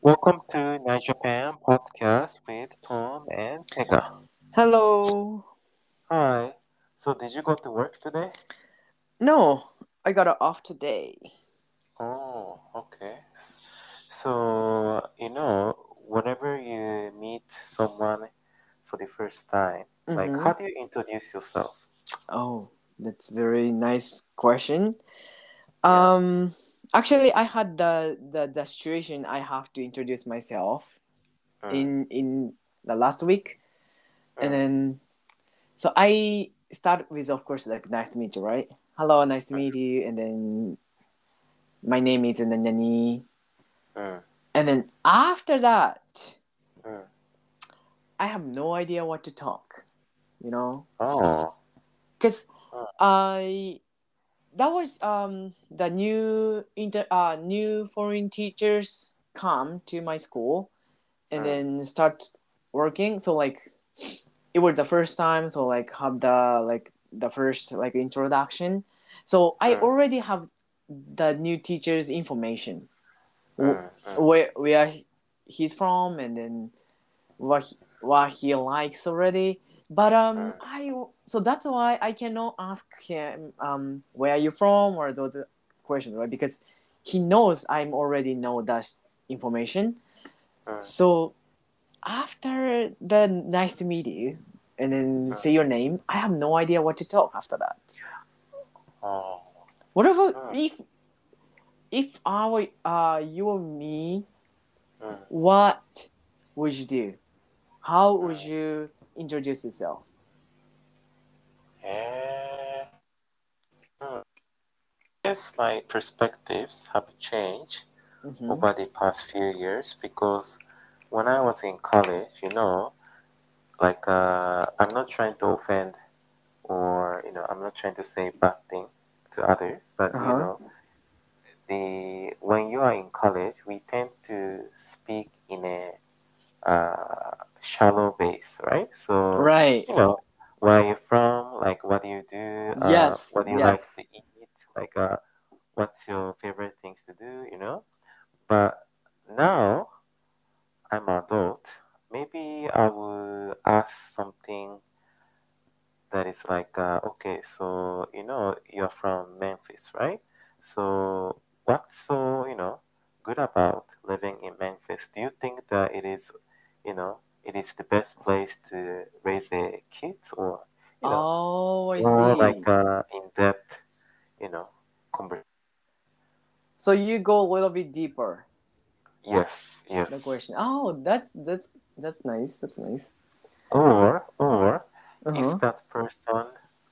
Welcome to Night Japan podcast with Tom and Pega. Hello. Hi. So, did you go to work today? No, I got it off today. Oh, okay. Whenever you meet someone for the first time, like, Mm-hmm. how do you introduce yourself? Oh, that's very nice question. Yeah. Um, Actually, I had the situation. I have to introduce myself Mm, in the last week, and mm, then so I start with, of course, like nice to meet you, right? Hello, nice to meet you, and then my name is Nanyani, mm, and then after that, mm. I have no idea what to talk. You know, Oh. because Mm, I that was the new foreign teachers come to my school and mm, then start working. So like it was the first time. So like have the first like introduction. So I mm, already have the new teacher's information, mm, mm, where he's from, and then what he likes already. But mm, I so that's why I cannot ask him where are you from or those questions, right? Because he knows I'm already know that information. mm, So after the nice to meet you and then mm. say your name, I have no idea what to talk after that. Oh. Whatever Mm, if I were you or me, mm, what would you do? How would mm. you introduce yourself? Eh, mm. Guess my perspectives have changed Mm-hmm. over the past few years because when I was in college, I'm not trying to offend or I'm not trying to say bad thing to others, but Uh-huh. the when you are in college, we tend to speak in a shallow base, right? So Right. you know where are you from, like what do you do, Yes. what do you like to Yes. eat, like what's your favorite things to do. But now I'm adult. Maybe I will ask something that is like, okay, so you're from Memphis, right? So what's so good about living in Memphis? Do you think that it is the best place to raise a kid, or you know, Oh, I more like see. in-depth, you know, conversation? So you go a little bit deeper. Yes, The yes. question. Oh, that's nice. That's nice. Or Uh if huh. that person,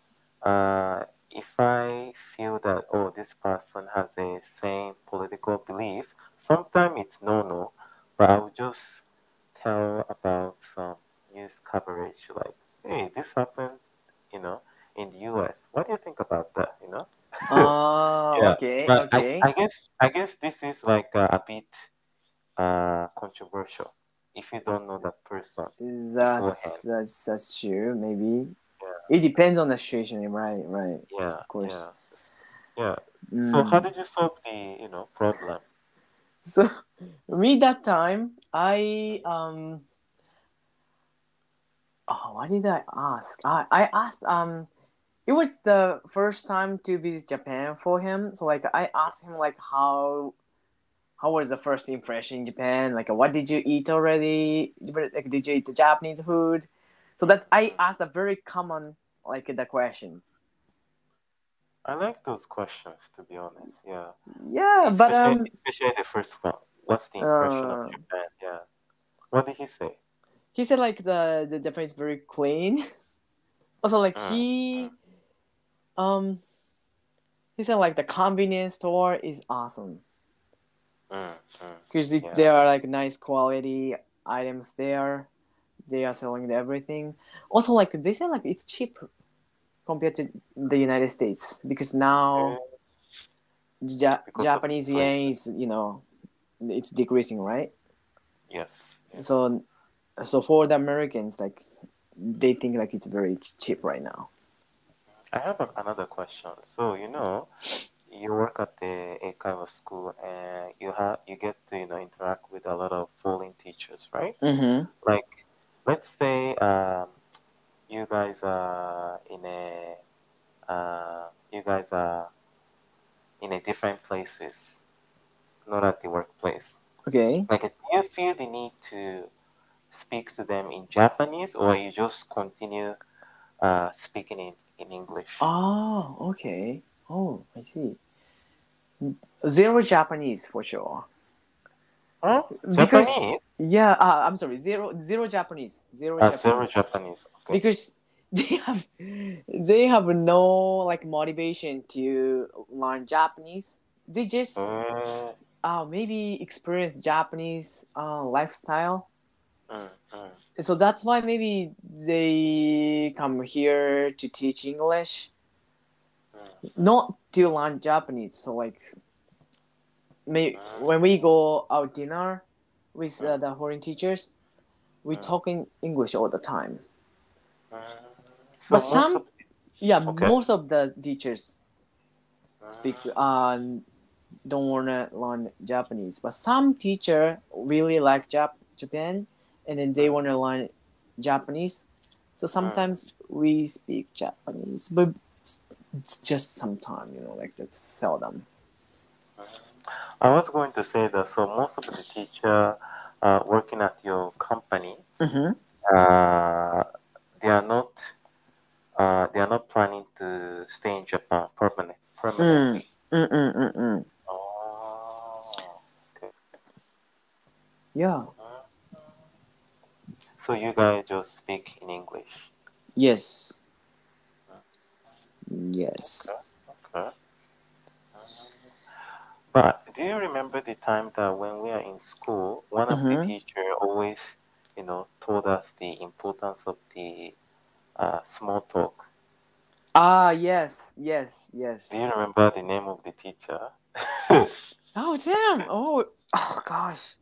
if I feel that, oh, this person has a same political belief, sometimes it's no, but I'll just tell about some news coverage like, hey, this happened, you know, in the US. What do you think about that? Oh, Yeah, okay, but I, okay. I guess I guess this is like a bit controversial if you don't know that person beforehand. That's true. Maybe Yeah. it depends on the situation. Right, right. Yeah, Of yeah, course. yeah. So how Mm. did you solve the problem? So me that time, oh, what did I ask? I asked it was the first time to visit Japan for him. So like I asked him like how was the first impression in Japan? Like what did you eat already? Like did you eat the Japanese food? So that I Mm. asked a very common like the questions. I like those questions, to be honest. Yeah, Yeah, but especially the first one. What's the impression of uh Japan? Yeah. What did he say? he said like the Japan is very clean. Also like Mm, mm, um he said like the convenience store is awesome mm, mm. because Yeah. there are like nice quality items there. They are selling everything. Also, like they say, like it's cheap compared to the United States because now Eh, because of Japanese yen inflation. is it's decreasing, right? Yes, yes. So for the Americans, like they think like it's very cheap right now. I have another question. So, you work at the Eikaiwa school and you get to interact with a lot of foreign teachers, right? Mm-hmm. Like, let's say you guys are in a you guys are in a different places, not at the workplace. Okay. Like, do you feel the need to speak to them in Japanese, or you just continue speaking in English? Oh, okay. Oh, I see. Zero Japanese for sure. Huh? Because Japanese? yeah, I'm sorry, zero Japanese, zero Zero Japanese. Japanese. Okay. Because they have no like motivation to learn Japanese. They just Mm, maybe experience Japanese lifestyle. mm, mm, So that's why maybe they come here to teach English, mm, not to learn Japanese. So like mm, when we go out dinner with mm, the foreign teachers, we mm, talk in English all the time. mm. But So most some, of yeah, okay. most of the teachers speak Mm, don't wanna learn Japanese. But some teacher really like Japan, and then they mm, wanna learn Japanese. So mm, sometimes we speak Japanese, but it's just sometime, like that's seldom. mm. I was going to say that so most of the teacher working at your company, Mm-hmm. uh, they are not planning to stay in Japan Mm. permanently. Mm-mm-mm-mm. Oh, okay. Yeah. Mm. So you guys just speak in English. Yes. Okay, Yes. okay. Mm. But do you remember the time that when we are in school, one of the Mm-hmm. teacher always, told us the importance of the small talk? Ah, yes, yes, Do you yes. remember the name of the teacher? Oh, damn. Oh, gosh.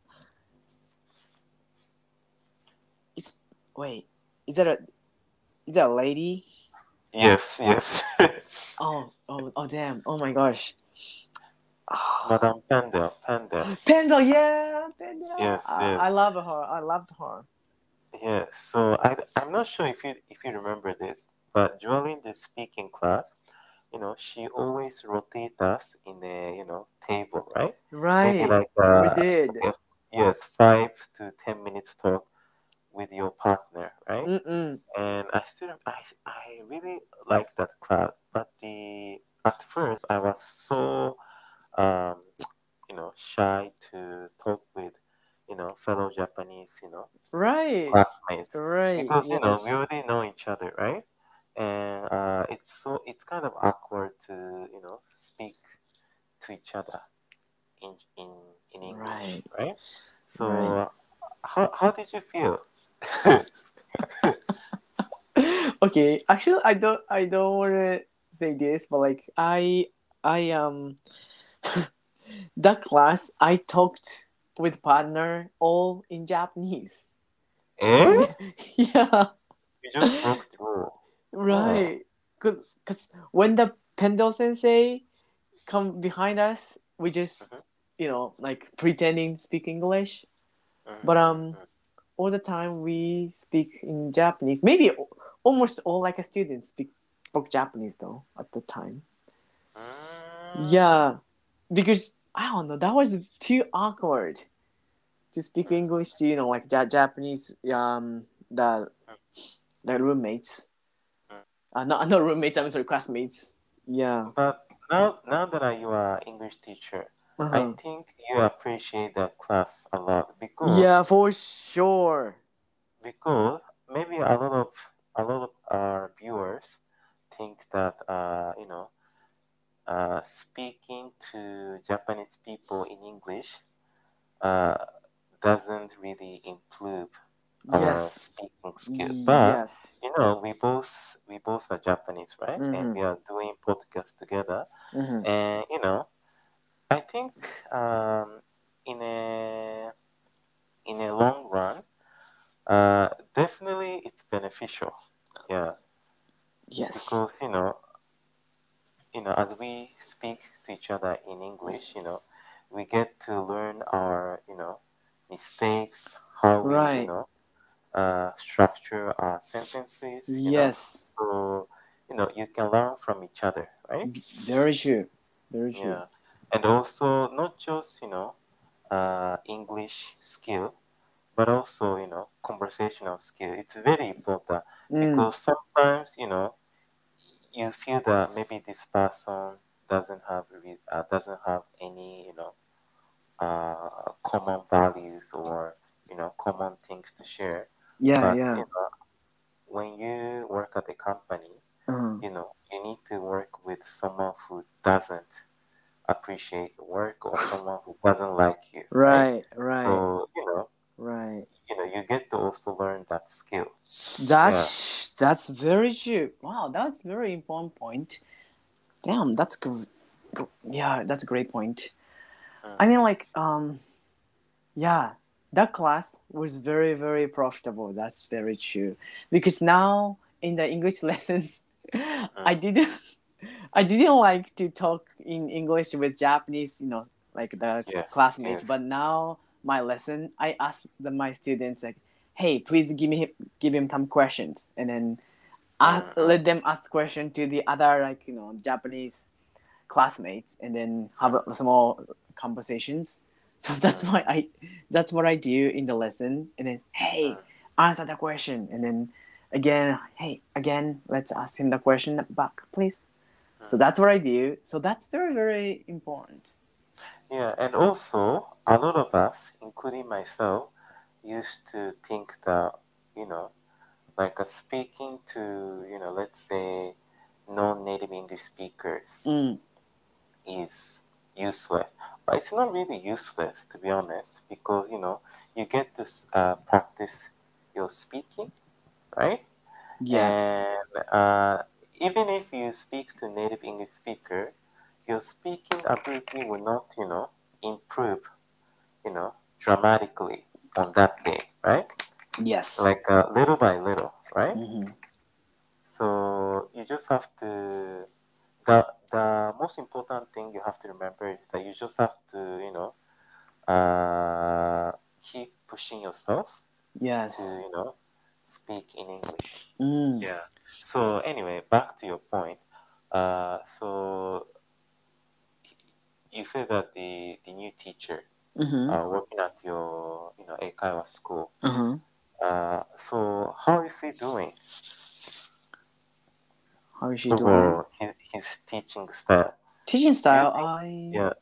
It's wait. Is that a is that a lady? Yes, yes. Oh, damn. Oh my gosh. Ah, Madame Pendel, Pendel. Pendle, yeah, Pendle. Yes, I yes, love her. I loved her. yes. So I'm not sure if you remember this, but during the speaking class, she always rotate us in a table, right? Maybe Right. like We did. yes, 5 to 10 minutes talk with your partner, right? Mm-mm. And I really like that class, but the at first I was so um shy to talk with fellow Japanese Right. classmates Right. because we Yes. already know each other, right? And it's kind of awkward to speak to each other in in in English, Right. right? Right. So how did you feel? Okay. Actually, I don't want to say this, but like I that class I talked with partner all in Japanese. Eh? Yeah. You just broke the rule. Oh. Right. Cause when the Pendle Sensei come behind us, we just Mhm, like pretending to speak English. mhm, But mhm, all the time we speak in Japanese. Maybe almost all like a student spoke Japanese though at the time. mm, Yeah, because I don't know, that was too awkward to speak mm, English to like Japanese the roommates. mm. Not roommates. I'm sorry, classmates. Yeah. But now that you are English teacher, Uh I huh. think you appreciate that class a lot Yeah, for sure. because maybe a lot of our viewers think that speaking to Japanese people in English uh, doesn't really improve our Yes. speaking skill. But Yes. we both are Japanese, right? And Mhm. we are doing podcast together. Mhm. And I think in a long run, definitely it's beneficial. Yeah, Yes. because as we speak to each other in English, we get to learn our, mistakes, how we, Right. structure our sentences. Yes. So, you can learn from each other, right? Very true. Very true. Yeah. And also not just, English skill, but also, conversational skill. It's very important Mm. because sometimes, you feel that maybe this person doesn't have any, common values or, common things to share. Yeah, But, yeah. when you work at a company, Uh-huh. you need to work with someone who doesn't appreciate your work or someone who doesn't like you, right? Right, right, So, right. you get to also learn that skill. Yeah. That's very true. Wow, that's very important point. Damn, yeah, that's a great point. Mm, I mean, like, yeah, that class was very, very profitable. That's very true. Because now in the English lessons, I mm. didn't, I didn't like to talk in English with Japanese, like the Yes, classmates. But yes. now my lesson, I ask my students like, "Hey, please give him some questions," and then Mm, mm, let them ask question to the other like Japanese classmates, and then have a small conversations. So that's mm, why that's what I do in the lesson, and then hey, mm, answer the question, and then again, hey, again, let's ask him the question back, please. So mm. that's what I do. So that's very, very important. Yeah, and also a lot of us, including myself, used to think that, you know, like speaking to, let's say non-native English speakers Mm, is useless. But it's not really useless, to be honest, because, you get to practice your speaking, right? yes. And even if you speak to native English speaker, your speaking ability will not, improve, dramatically on that day, right? Yes. Like little by little, right? Hmm. So you just have to. The most important thing you have to remember is that you just have to, keep pushing yourself to, Yes. speak in English. Mm. Yeah. So anyway, back to your point. So you said that the new teacher Mm-hmm. working at your Eikaiwa school. Uh-huh. So how is he doing How is she doing? overall? His teaching style. Teaching Do you style, think? Yeah.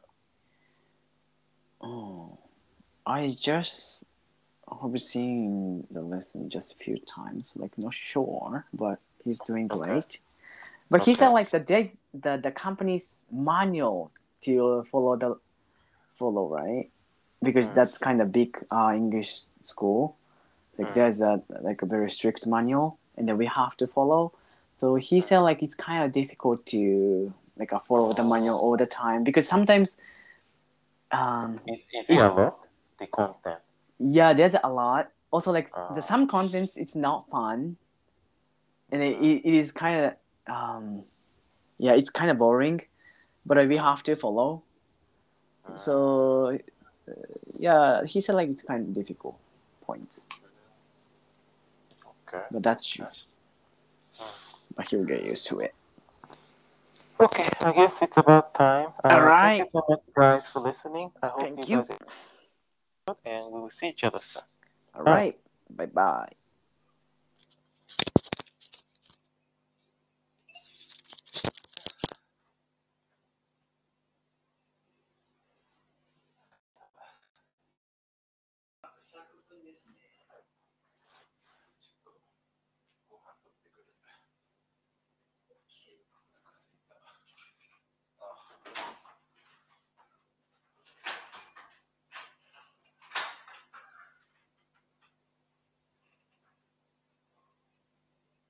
oh, I just have seen the lesson just a few times, like not sure, but he's doing Okay. great. But he said Okay. like the company's manual to follow, right? Because Mm, that's kind of big English school. It's like mm, there's a very strict manual, and then we have to follow. So he mm. said like it's kind of difficult to like follow the manual Oh, all the time because sometimes is it it a lot? The content. yeah, there's a lot. Also, like the Uh, some contents, it's not fun, and mm, it is kind of yeah, it's kind of boring. But we mm, have to follow. mm. So yeah, he said like it's kind of difficult points, Okay. but that's true. Okay. Mm. But he'll get used to it. Okay, I guess it's about time. All Thank you right. so much, guys, for listening. I hope you Thank you. guys enjoyed, and we will see each other soon. All Bye. right. Bye bye.